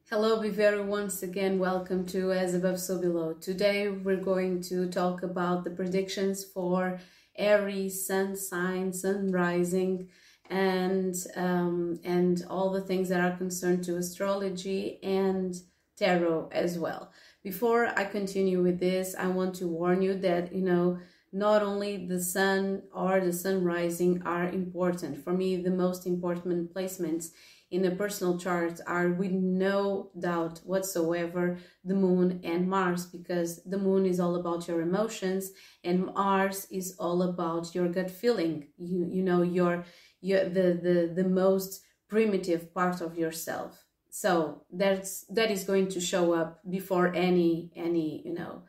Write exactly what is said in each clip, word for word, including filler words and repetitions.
Hello, Vivero, once again, welcome to As Above So Below. Today we're going to talk about the predictions for Aries, Sun sign, Sun rising, and, um, and all the things that are concerned to astrology and tarot as well. Before I continue with this, I want to warn you that, you know, not only the Sun or the Sun rising are important. For me, the most important placements in a personal chart are, with no doubt whatsoever, the Moon and Mars, because the Moon is all about your emotions and Mars is all about your gut feeling. You you know your your the the the most primitive part of yourself. So that's that is going to show up before any any you know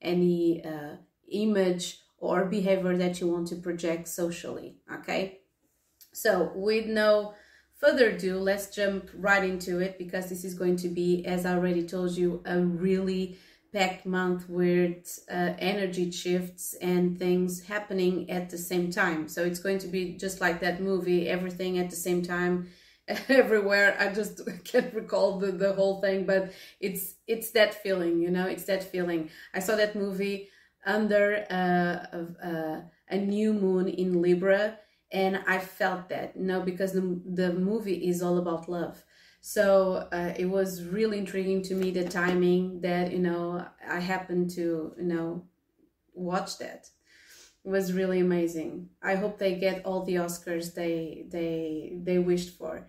any uh, image or behavior that you want to project socially. Okay, so with no further ado, let's jump right into it, because this is going to be, as I already told you, a really packed month with uh, energy shifts and things happening at the same time. So it's going to be just like that movie, everything at the same time, everywhere. I just can't recall the, the whole thing, but it's it's that feeling, you know, it's that feeling. I saw that movie under uh, uh, a new moon in Libra, and I felt that, you know, because the, the movie is all about love. So uh, it was really intriguing to me, the timing that, you know, I happened to, you know, watch that. It was really amazing. I hope they get all the Oscars they they they wished for.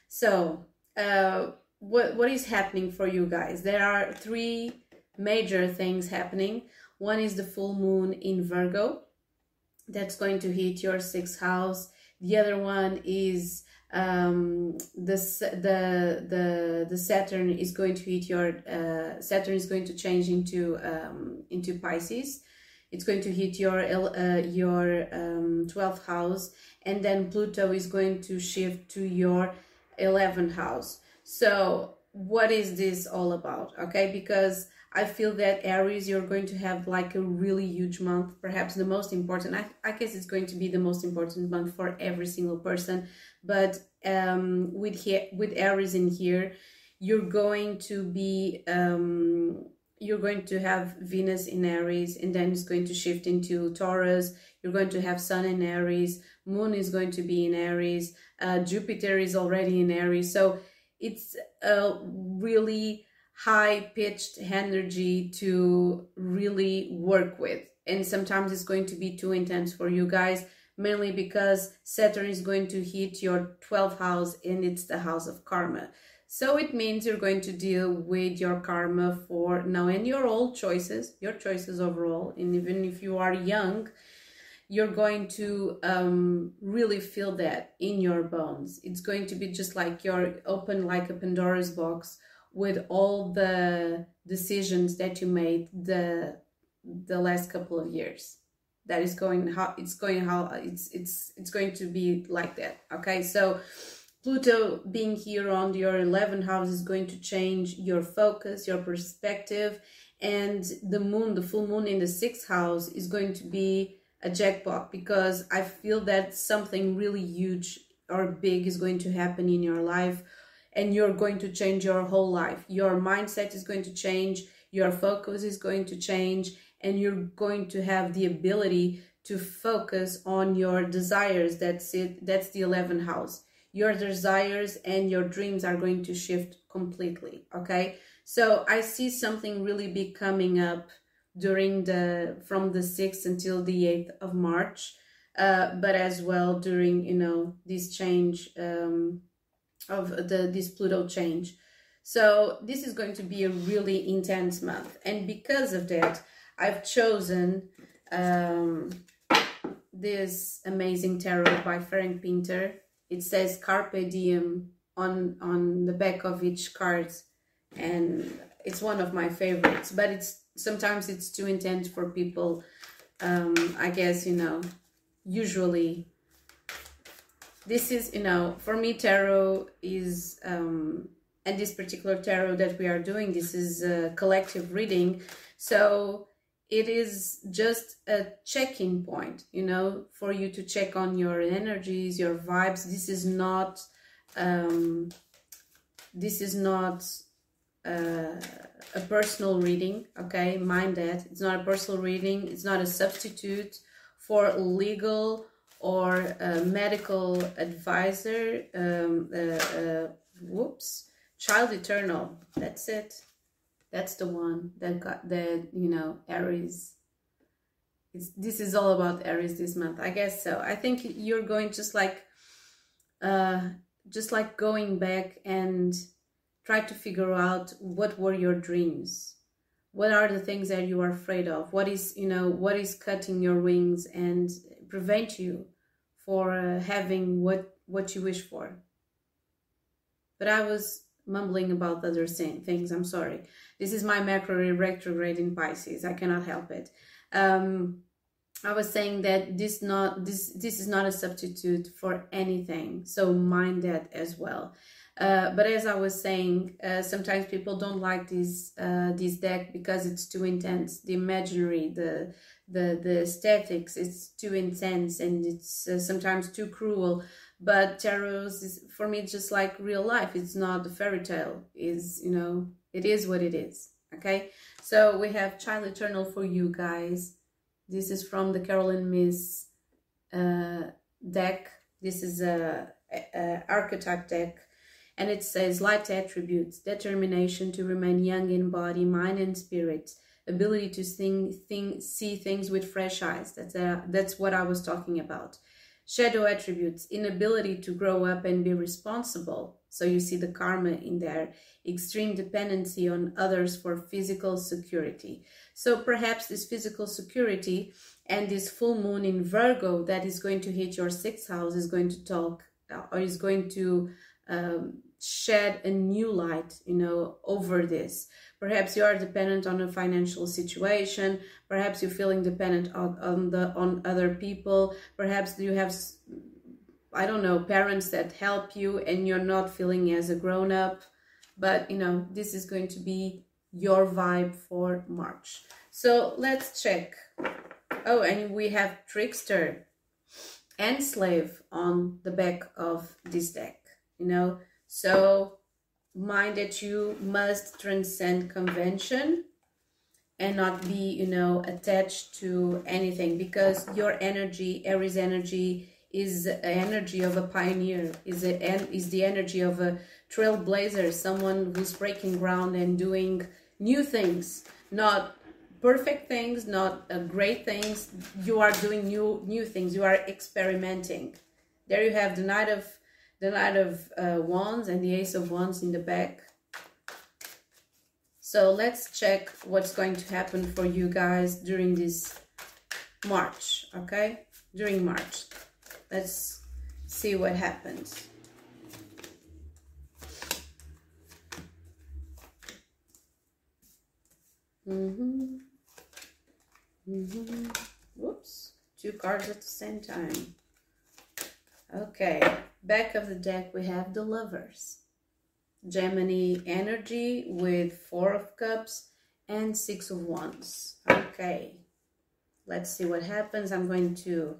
So uh, what what is happening for you guys? There are three major things happening. One is the full moon in Virgo. That's going to hit your sixth house. The other one is um, the, the, the, the Saturn is going to hit your, uh, Saturn is going to change into, um, into Pisces. It's going to hit your, uh, your um, twelfth house, and then Pluto is going to shift to your eleventh house. So what is this all about? Okay, because I feel that Aries, you're going to have like a really huge month, perhaps the most important. I, I guess it's going to be the most important month for every single person. But um, with here, with Aries in here, you're going to be, um, you're going to have Venus in Aries, and then it's going to shift into Taurus. You're going to have Sun in Aries, Moon is going to be in Aries, uh, Jupiter is already in Aries. So it's a really high-pitched energy to really work with, and sometimes it's going to be too intense for you guys, mainly because Saturn is going to hit your twelfth house, and it's the house of karma. So it means you're going to deal with your karma for now, and your old choices, your choices overall. And even if you are young, you're going to um, really feel that in your bones. It's going to be just like you're open like a Pandora's box with all the decisions that you made the the last couple of years. That is going how it's going how it's it's it's going to be like that. Okay, so Pluto being here on your eleventh house is going to change your focus, your perspective, and the moon, the full moon in the sixth house, is going to be a jackpot, because I feel that something really huge or big is going to happen in your life, and you're going to change your whole life. Your mindset is going to change, your focus is going to change, and you're going to have the ability to focus on your desires. That's it. That's the eleventh house. Your desires and your dreams are going to shift completely. Okay, so I see something really big coming up during the from the sixth until the eighth of March, uh, but as well during, you know, this change um, of the this Pluto change. So this is going to be a really intense month, and because of that, I've chosen um, this amazing tarot by Frank Pinter. It says Carpe Diem on on the back of each card, and it's one of my favorites, but it's sometimes it's too intense for people. um, I guess, you know, usually this is, you know, for me, tarot is, um, and this particular tarot that we are doing, this is a collective reading. So it is just a check-in point, you know, for you to check on your energies, your vibes. This is not, um, this is not uh, a personal reading, okay? Mind that. It's not a personal reading. It's not a substitute for legal or a medical advisor. Um, uh, uh, whoops. Child Eternal. That's it. That's the one that got the, you know, Aries. It's, this is all about Aries this month. I guess so. I think you're going just like, uh, just like going back and try to figure out what were your dreams. What are the things that you are afraid of? What is, you know, what is cutting your wings and prevent you for uh, having what, what you wish for? But I was mumbling about other things. I'm sorry. This is my Mercury retrograde in Pisces. I cannot help it. Um, I was saying that this not this this is not a substitute for anything. So mind that as well. Uh, but as I was saying, uh, sometimes people don't like this uh, this deck because it's too intense. The imaginary, the the the aesthetics, it's too intense and it's uh, sometimes too cruel. But tarot is, for me, just like real life. It's not a fairy tale. Is you know, it is what it is. Okay, so we have Child Eternal for you guys. This is from the Caroline Myss uh, deck. This is a, a, a archetype deck. And it says light attributes, determination to remain young in body, mind and spirit, ability to sing, think, see things with fresh eyes. That's, a, that's what I was talking about. Shadow attributes, inability to grow up and be responsible. So you see the karma in there. Extreme dependency on others for physical security. So perhaps this physical security and this full moon in Virgo that is going to hit your sixth house is going to talk or is going to um, shed a new light, you know, over this. Perhaps you are dependent on a financial situation. Perhaps you're feeling dependent on, on the on other people. Perhaps you have, I don't know, parents that help you and you're not feeling as a grown-up. But, you know, this is going to be your vibe for March. So let's check. Oh, and we have Trickster and Slave on the back of this deck, you know. So mind that you must transcend convention and not be, you know, attached to anything, because your energy, Aries energy, is the energy of a pioneer, is a, is the energy of a trailblazer, someone who's breaking ground and doing new things, not perfect things, not uh, great things. You are doing new new things. You are experimenting. There you have the Knight of the Knight of uh, Wands and the Ace of Wands in the back. So let's check what's going to happen for you guys during this March, okay? During March. Let's see what happens. Mm-hmm. Mm-hmm. Whoops. Two cards at the same time. Okay. Back of the deck, we have the Lovers. Gemini energy with Four of Cups and Six of Wands. Okay. Let's see what happens. I'm going to...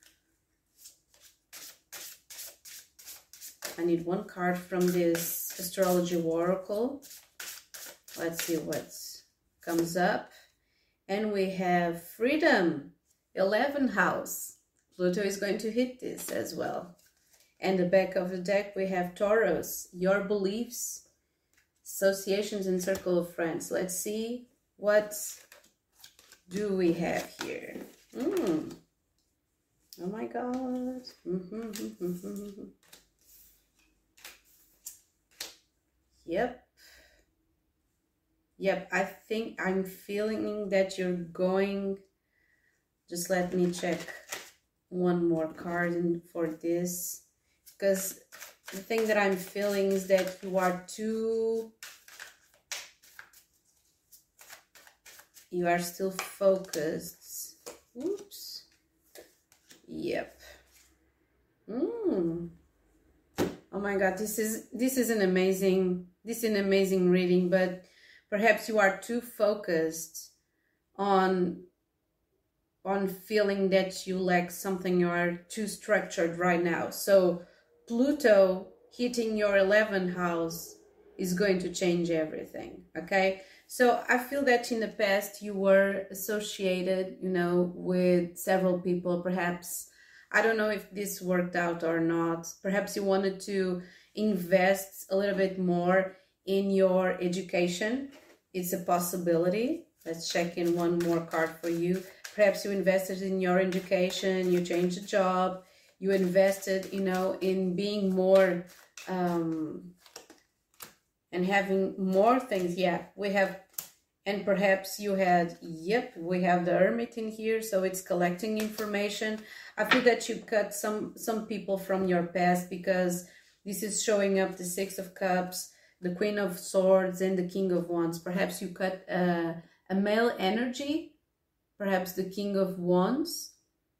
I need one card from this astrology oracle. Let's see what comes up. And we have Freedom, eleventh house. Pluto is going to hit this as well. And the back of the deck, we have Taurus, your beliefs, associations, and circle of friends. Let's see what do we have here. Mm. Oh my God. Mm-hmm. Yep. Yep, I think I'm feeling that you're going... Just let me check one more card for this. Because the thing that I'm feeling is that you are too... You are still focused. Oops. Yep. Mm. Oh my God, this is this is an amazing this is an amazing reading, but perhaps you are too focused on on feeling that you lack something. You are too structured right now. So Pluto hitting your eleventh house is going to change everything. Okay, so I feel that in the past you were associated, you know, with several people. Perhaps, I don't know if this worked out or not. Perhaps you wanted to invest a little bit more in your education. It's a possibility. Let's check in one more card for you. Perhaps you invested in your education, you changed a job, you invested, you know, in being more um, and having more things. Yeah, we have, and perhaps you had, yep, we have the Hermit in here, so it's collecting information. I feel that you cut some, some people from your past, because this is showing up the Six of Cups, the Queen of Swords, and the King of Wands. Perhaps you cut uh, a male energy, perhaps the King of Wands.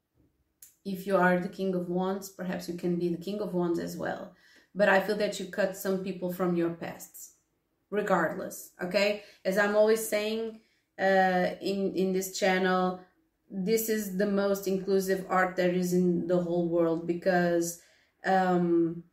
If you are the King of Wands, perhaps you can be the King of Wands as well. But I feel that you cut some people from your pasts, regardless, okay? As I'm always saying uh, in, in this channel, this is the most inclusive art there is in the whole world, because um,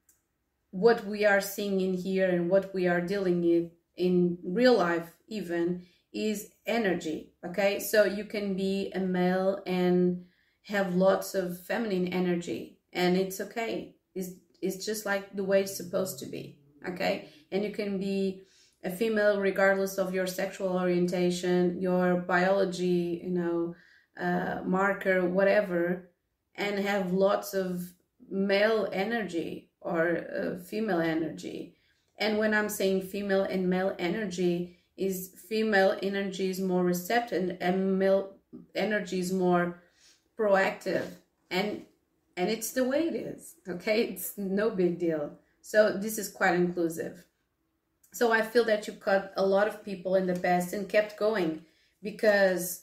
what we are seeing in here and what we are dealing with in real life even is energy, okay? So you can be a male and have lots of feminine energy, and it's okay. It's, it's just like the way it's supposed to be, okay? And you can be a female regardless of your sexual orientation, your biology, you know, uh, marker, whatever, and have lots of male energy or uh, female energy. And when I'm saying female and male energy, is female energy is more receptive and male energy is more proactive, and and it's the way it is, okay? It's no big deal. So this is quite inclusive. So I feel that you cut a lot of people in the past and kept going, because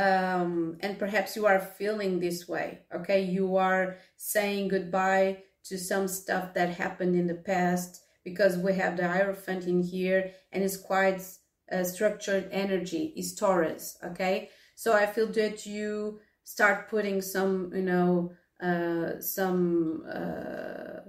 um and perhaps you are feeling this way, okay? You are saying goodbye to some stuff that happened in the past, because we have the Hierophant in here, and it's quite uh, structured energy, is Taurus, okay? So I feel that you start putting some, you know, uh, some uh,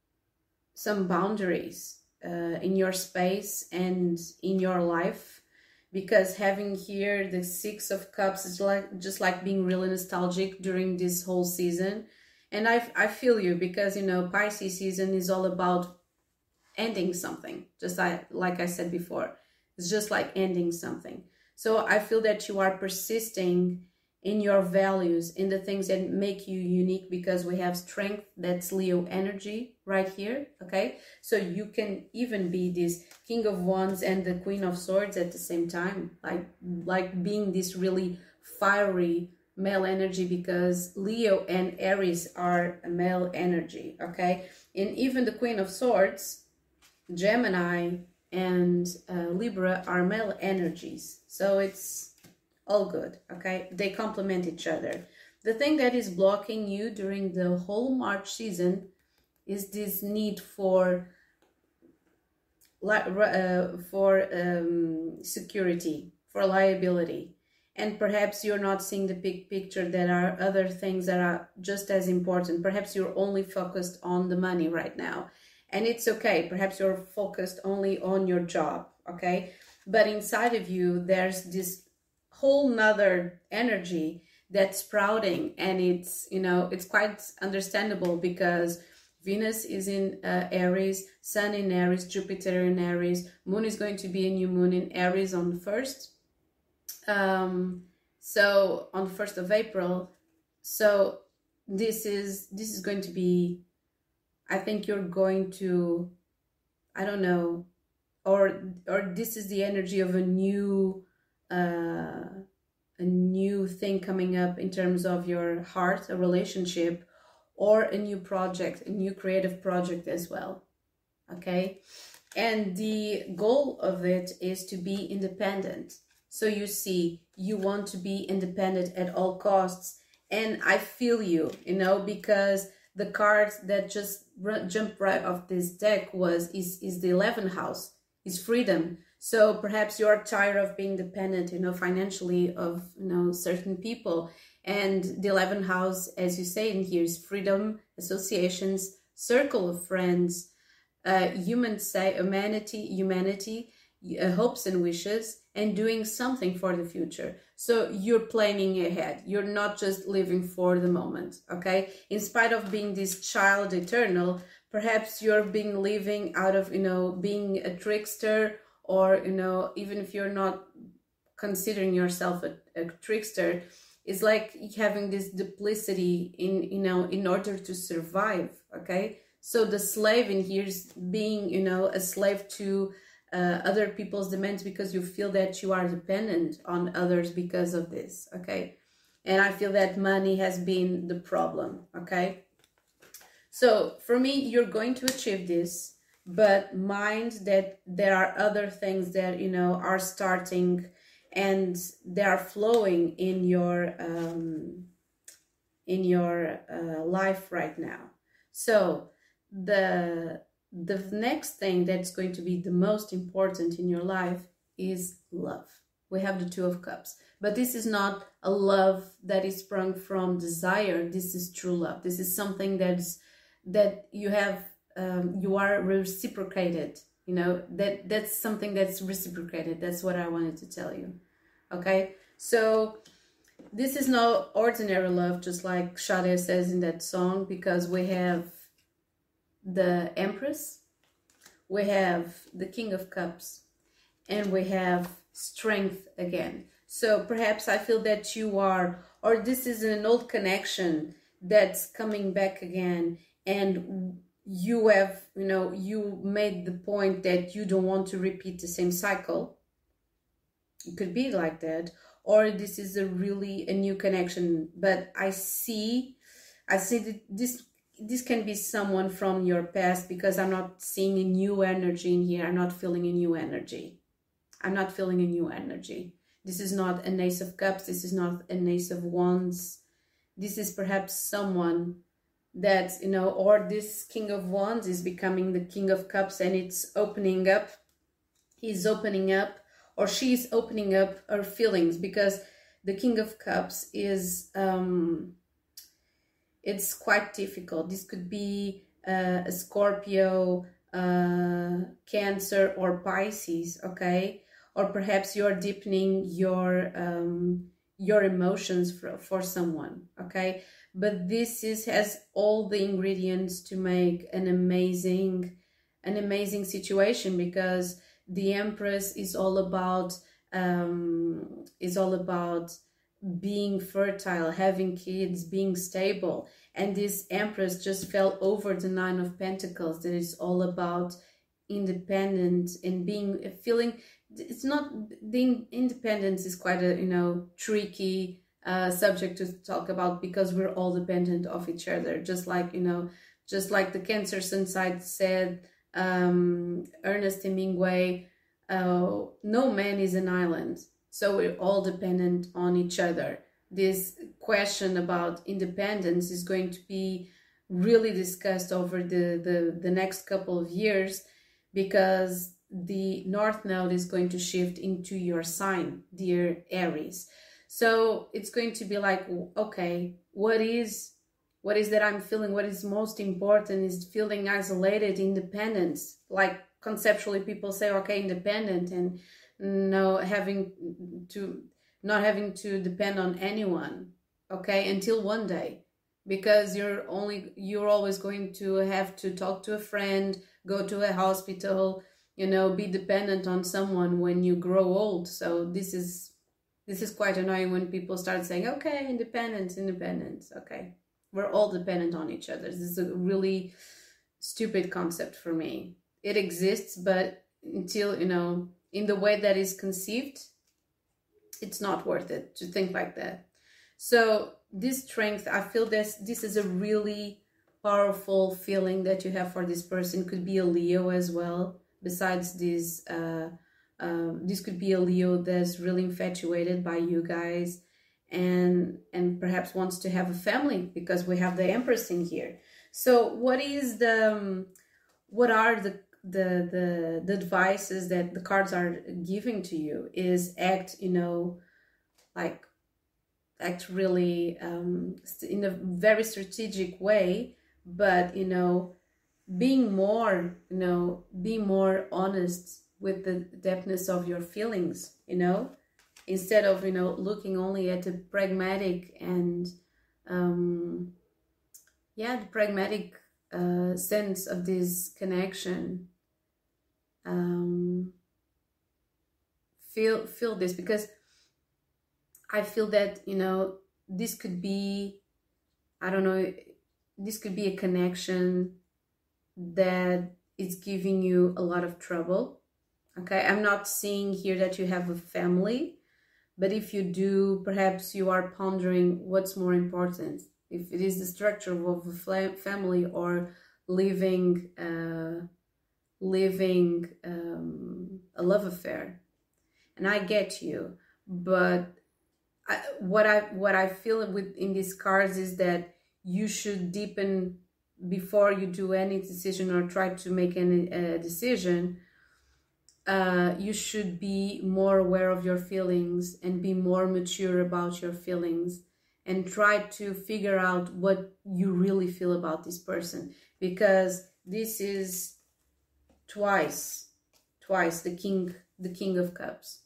some boundaries uh, in your space and in your life, because having here the Six of Cups is like just like being really nostalgic during this whole season. And I, I feel you, because, you know, Pisces season is all about ending something, just like, like I said before. It's just like ending something. So I feel that you are persisting in your values, in the things that make you unique, because we have Strength, that's Leo energy right here, okay? So you can even be this King of Wands and the Queen of Swords at the same time, like, like being this really fiery male energy, because Leo and Aries are a male energy, okay? And even the Queen of Swords, Gemini and uh, Libra are male energies. So it's all good, okay? They complement each other. The thing that is blocking you during the whole March season is this need for uh, for um, security, for liability. And perhaps you're not seeing the big picture. There are other things that are just as important. Perhaps you're only focused on the money right now. And it's okay. Perhaps you're focused only on your job, okay? But inside of you, there's this whole nother energy that's sprouting. And it's, you know, it's quite understandable, because Venus is in uh, Aries, Sun in Aries, Jupiter in Aries. Moon is going to be a new moon in Aries on the first. Um, so on the first of April. So this is, this is going to be, I think you're going to, I don't know, or, or this is the energy of a new, uh, a new thing coming up in terms of your heart, a relationship, or a new project, a new creative project as well, okay? And the goal of it is to be independent. So you see, you want to be independent at all costs. And I feel you, you know, because the card that just jumped right off this deck was, is, is the eleventh house, is freedom. So perhaps you're tired of being dependent, you know, financially of, you know, certain people. And the eleventh house, as you say in here, is freedom, associations, circle of friends, uh, human say humanity humanity uh, hopes and wishes, and doing something for the future. So you're planning ahead, you're not just living for the moment. Okay, in spite of being this child eternal, perhaps you're being living out of, you know, being a trickster, or, you know, even if you're not considering yourself a, a trickster, it's like having this duplicity in, you know, in order to survive. Okay, so the slave in here is being, you know, a slave to uh, other people's demands, because you feel that you are dependent on others because of this. Okay, and I feel that money has been the problem. Okay, so for me, you're going to achieve this, but mind that there are other things that, you know, are starting and they are flowing in your um, in your uh, life right now. So the the next thing that's going to be the most important in your life is love. We have the Two of Cups, but this is not a love that is sprung from desire. This is true love. This is something that's that you have, um, you are reciprocated. You know, that that's something that's reciprocated. That's what I wanted to tell you. Okay, so this is no ordinary love, just like Sade says in that song, because we have the Empress, we have the King of Cups, and we have strength again. So perhaps I feel that you are, or this is an old connection that's coming back again, and you have, you know, you made the point that you don't want to repeat the same cycle. It could be like that, or this is a really a new connection. But I see, I see that this this can be someone from your past, because I'm not seeing a new energy in here. I'm not feeling a new energy. I'm not feeling a new energy. This is not an Ace of Cups. This is not an Ace of Wands. This is perhaps someone that, you know, or this King of Wands is becoming the King of Cups, and it's opening up. He's opening up, or she's opening up her feelings, because the King of Cups is, um, it's quite difficult. This could be uh, a Scorpio, uh, Cancer, or Pisces, okay? Or perhaps you're deepening your um, your emotions for, for someone, okay? But this is has all the ingredients to make an amazing, an amazing situation, because the Empress is all about um, is all about being fertile, having kids, being stable. And this Empress just fell over the Nine of Pentacles, that is all about independent and being, feeling, it's not, the independence is quite a, you know, tricky uh, subject to talk about, because we're all dependent of each other. Just like, you know, just like the Cancer Sun side said, um, Ernest Hemingway, uh, no man is an island. So we're all dependent on each other. This question about independence is going to be really discussed over the, the, the next couple of years, because the North Node is going to shift into your sign, dear Aries. So it's going to be like, okay, what is, what is that I'm feeling? What is most important is feeling isolated, independence. Like conceptually people say, okay, independent, and no having to, not having to depend on anyone, okay, until one day, because you're only, you're always going to have to talk to a friend, go to a hospital, you know, be dependent on someone when you grow old. So this is, this is quite annoying when people start saying, okay, independence, independence, okay. We're all dependent on each other. This is a really stupid concept for me. It exists, but until, you know, in the way that is conceived, it's not worth it to think like that. So this strength, I feel this, this is a really powerful feeling that you have for this person. Could be a Leo as well. Besides this, uh, uh, this could be a Leo that's really infatuated by you guys, and and perhaps wants to have a family, because we have the Empress in here. So what is the, um, what are the the the the advices that the cards are giving to you? Is act, you know, like act really um in a very strategic way, but, you know, being more, you know, be more honest with the depthness of your feelings, you know, instead of, you know, looking only at the pragmatic and, um, yeah, the pragmatic uh, sense of this connection. Um, feel, feel this, because I feel that, you know, this could be, I don't know, this could be a connection that is giving you a lot of trouble. Okay, I'm not seeing here that you have a family, but if you do, perhaps you are pondering what's more important, if it is the structure of a family or living uh, living um, a love affair. And I get you, but I, what I what I feel with in these cards is that you should deepen before you do any decision or try to make any uh, decision. Uh, you should be more aware of your feelings and be more mature about your feelings and try to figure out what you really feel about this person, because this is twice, twice the king, the King of Cups.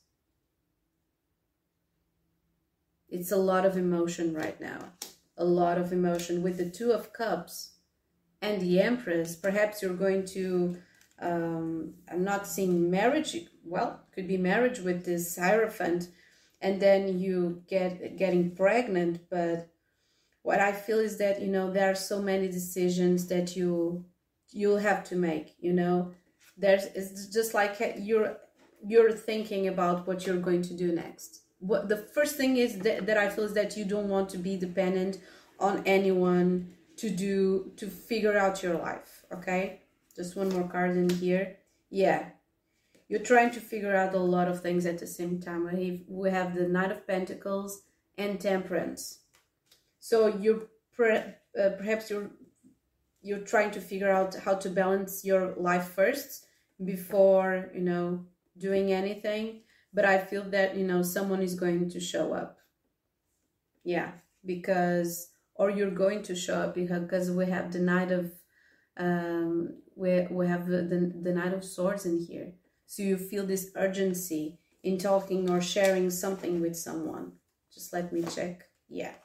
It's a lot of emotion right now, a lot of emotion with the Two of Cups and the Empress. Perhaps you're going to, um, I'm not seeing marriage, well, could be marriage with this Hierophant, and then you get getting pregnant. But what I feel is that, you know, there are so many decisions that you, you'll have to make, you know. There's, it's just like you're, you're thinking about what you're going to do next. What the first thing is that, that I feel is that you don't want to be dependent on anyone to do, to figure out your life, okay? Just one more card in here. Yeah, you're trying to figure out a lot of things at the same time. We have the Knight of Pentacles and Temperance. So you're per, uh, perhaps you're you're trying to figure out how to balance your life first before, you know, doing anything. But I feel that, you know, someone is going to show up. Yeah, because, or you're going to show up because we have the Knight of, um, we, we have the, the, the Knight of Swords in here. So you feel this urgency in talking or sharing something with someone. Just let me check. Yeah.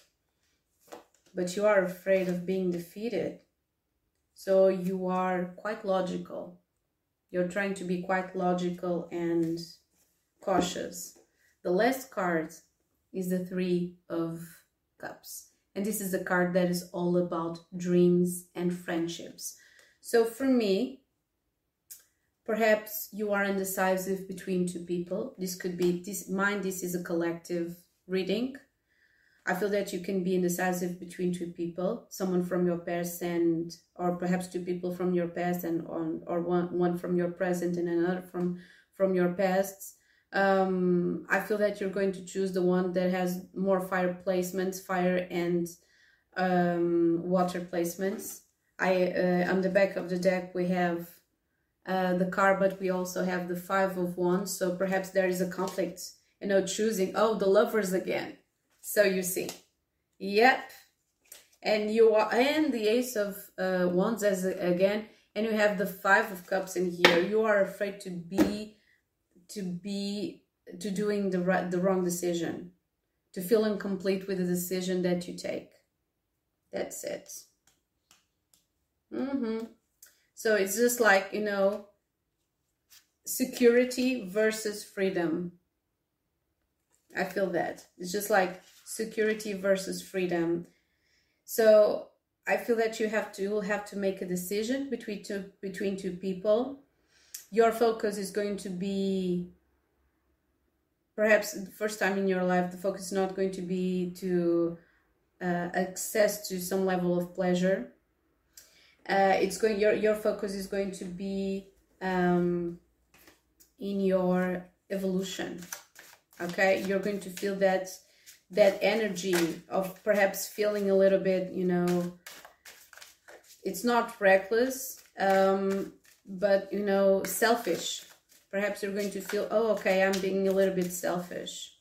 But you are afraid of being defeated. So you are quite logical. You're trying to be quite logical and cautious. The last card is the Three of Cups. And this is a card that is all about dreams and friendships. So for me, perhaps you are indecisive between two people. This could be, this, mind, this is a collective reading. I feel that you can be indecisive between two people, someone from your past and, or perhaps two people from your past and on, or one, one from your present and another from, from your past. Um, I feel that you're going to choose the one that has more fire placements, fire and um, water placements. I, uh, on the back of the deck, we have uh, the car, but we also have the Five of Wands. So perhaps there is a conflict, you know, choosing, oh, the Lovers again. So you see, yep, and you are, and the Ace of uh, Wands as a, again, and you have the Five of Cups in here. You are afraid to be, to be, to doing the right, the wrong decision, to feel incomplete with the decision that you take. That's it. Mm-hmm. So it's just like, you know, security versus freedom. I feel that. It's just like security versus freedom. So I feel that you have to, you'll have to make a decision between two, between two people. Your focus is going to be, perhaps the first time in your life, the focus is not going to be to uh, access to some level of pleasure. Uh, it's going, your, your focus is going to be um, in your evolution. Okay, you're going to feel that that energy of perhaps feeling a little bit, you know, it's not reckless, um, but, you know, selfish. Perhaps you're going to feel, oh, okay, I'm being a little bit selfish.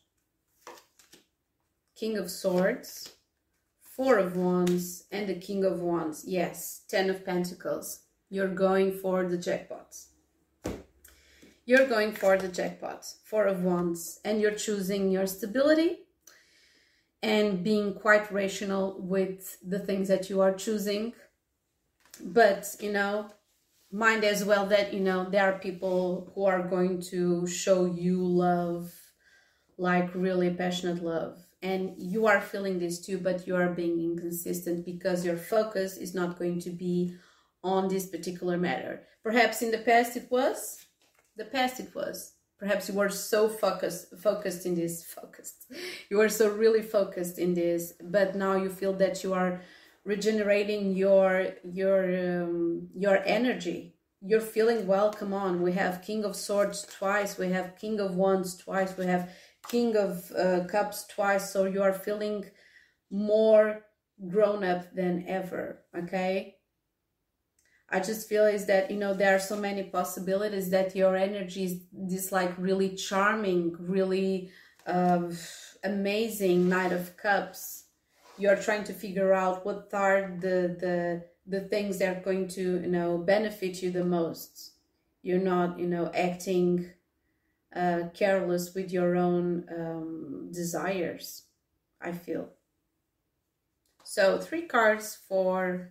King of Swords, Four of Wands, and the King of Wands. Yes, Ten of Pentacles. You're going for the jackpots. You're going for the jackpot, Four of Wands, and you're choosing your stability and being quite rational with the things that you are choosing. But, you know, mind as well that, you know, there are people who are going to show you love, like really passionate love. And you are feeling this too, but you are being inconsistent because your focus is not going to be on this particular matter. Perhaps in the past it was, the past it was. Perhaps you were so focused, focused in this, focused. You were so really focused in this, but now you feel that you are regenerating your, your, um, your energy. You're feeling well, come on. We have King of Swords twice, we have King of Wands twice, we have King of uh, Cups twice, so you are feeling more grown up than ever, okay? I just feel is that, you know, there are so many possibilities that your energy is this like really charming, really uh, amazing Knight of Cups. You're trying to figure out what are the, the, the things that are going to, you know, benefit you the most. You're not, you know, acting uh, careless with your own um, desires, I feel. So three cards for...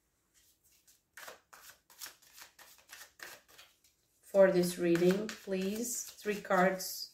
for this reading, please. Three cards.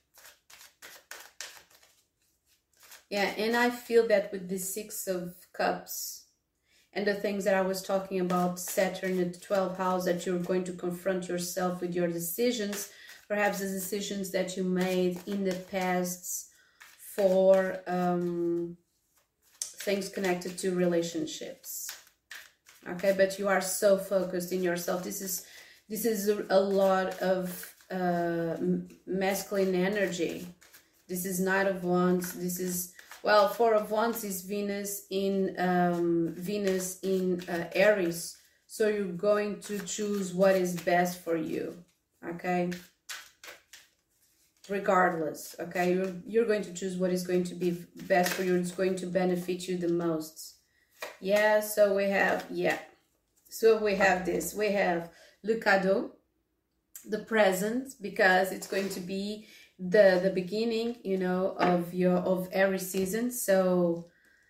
Yeah, and I feel that with the Six of Cups and the things that I was talking about, Saturn at the twelfth house, that you're going to confront yourself with your decisions, perhaps the decisions that you made in the past for um, things connected to relationships. Okay, but you are so focused in yourself. This is This is a lot of uh, masculine energy. This is Knight of Wands. This is, well, Four of Wands is Venus in um, Venus in uh, Aries. So you're going to choose what is best for you, okay? Regardless, okay? You're, you're going to choose what is going to be best for you. It's going to benefit you the most. Yeah, so we have, yeah. So we have this. We have le cadeau, the present, because it's going to be the the beginning, you know, of your of every season. So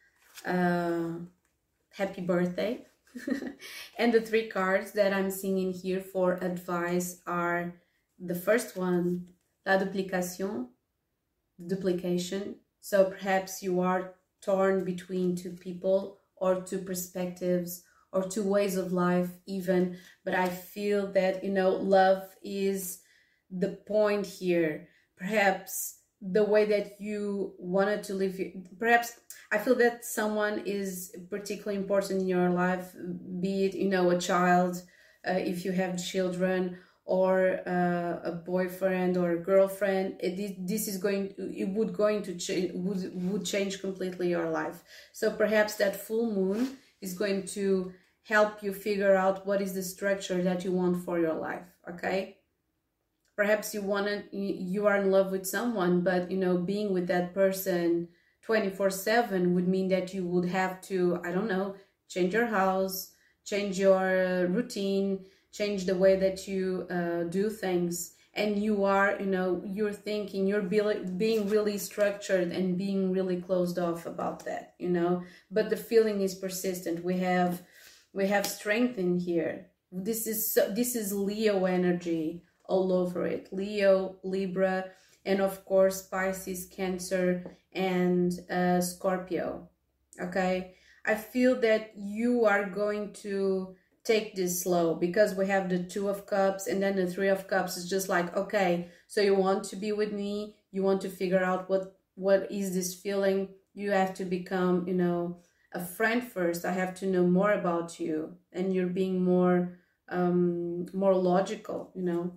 uh happy birthday. And the three cards that I'm seeing in here for advice are the first one, la duplication, duplication. So perhaps you are torn between two people or two perspectives or two ways of life even, but I feel that, you know, love is the point here. Perhaps the way that you wanted to live, perhaps I feel that someone is particularly important in your life, be it, you know, a child, uh, if you have children, or uh, a boyfriend or a girlfriend. It, this is going, it would going to change, would, would change completely your life. So perhaps that full moon is going to help you figure out what is the structure that you want for your life, okay? Perhaps you wanted, you are in love with someone, but, you know, being with that person twenty-four seven would mean that you would have to, I don't know, change your house, change your routine, change the way that you uh, do things. And you are, you know, you're thinking, you're being really structured and being really closed off about that, you know, but the feeling is persistent. We have We have strength in here. This is so, this is Leo energy all over it. Leo, Libra, and of course Pisces, Cancer, and uh, Scorpio. Okay, I feel that you are going to take this slow because we have the Two of Cups and then the Three of Cups. Is just like, okay, so you want to be with me. You want to figure out what what is this feeling. You have to become, you know, a friend first. I have to know more about you, and you're being more um more logical, you know.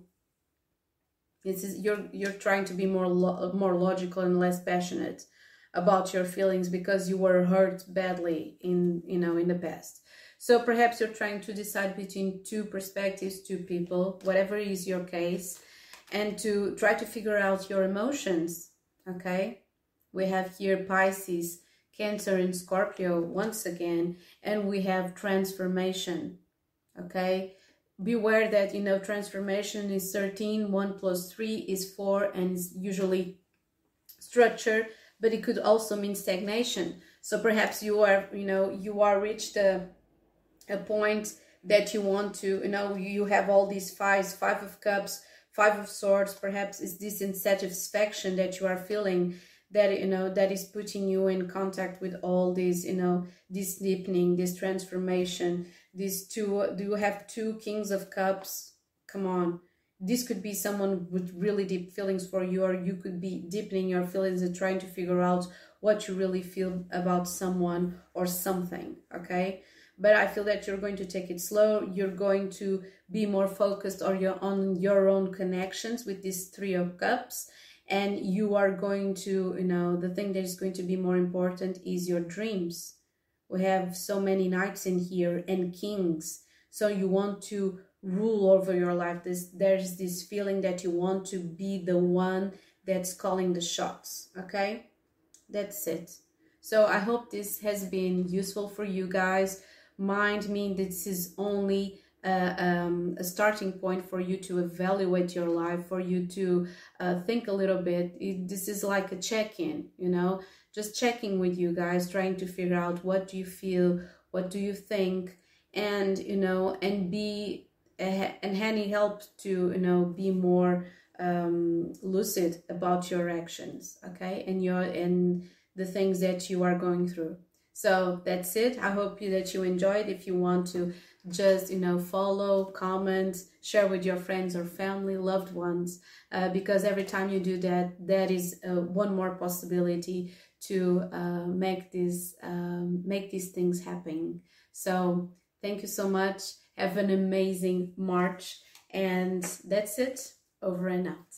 This is you're you're trying to be more lo more logical and less passionate about your feelings because you were hurt badly in, you know, in the past. So perhaps you're trying to decide between two perspectives, two people, whatever is your case, and to try to figure out your emotions, okay? We have here Pisces, Cancer, and Scorpio once again, and we have transformation, okay? beware that, you know, transformation is thirteen, one plus three is four, and it's usually structure, but it could also mean stagnation. So perhaps you are, you know, you are reached a, a point that you want to, you know, you have all these fives, five of cups, five of swords. Perhaps is this insatisfaction that you are feeling, that, you know, that is putting you in contact with all this, you know, this deepening, this transformation. These two, do you have two kings of cups? Come on. This could be someone with really deep feelings for you, or you could be deepening your feelings and trying to figure out what you really feel about someone or something, okay? But I feel that you're going to take it slow. You're going to be more focused on your, on your own connections with this Three of Cups. And you are going to, you know, the thing that is going to be more important is your dreams. We have so many knights in here and kings. So you want to rule over your life. This, there's this feeling that you want to be the one that's calling the shots, okay? That's it. So I hope this has been useful for you guys. Mind me, this is only uh, um, a starting point for you to evaluate your life, for you to uh, think a little bit. It, this is like a check-in, you know, just checking with you guys, trying to figure out what do you feel, what do you think, and, you know, and be, uh, and Hani helped to, you know, be more um, lucid about your actions, okay, and your, and the things that you are going through. So that's it. I hope you, that you enjoyed. If you want to just, you know, follow, comment, share with your friends or family, loved ones, uh, because every time you do that, that is uh, one more possibility to uh, make this, um, make these things happen. So thank you so much. Have an amazing March. And that's it. Over and out.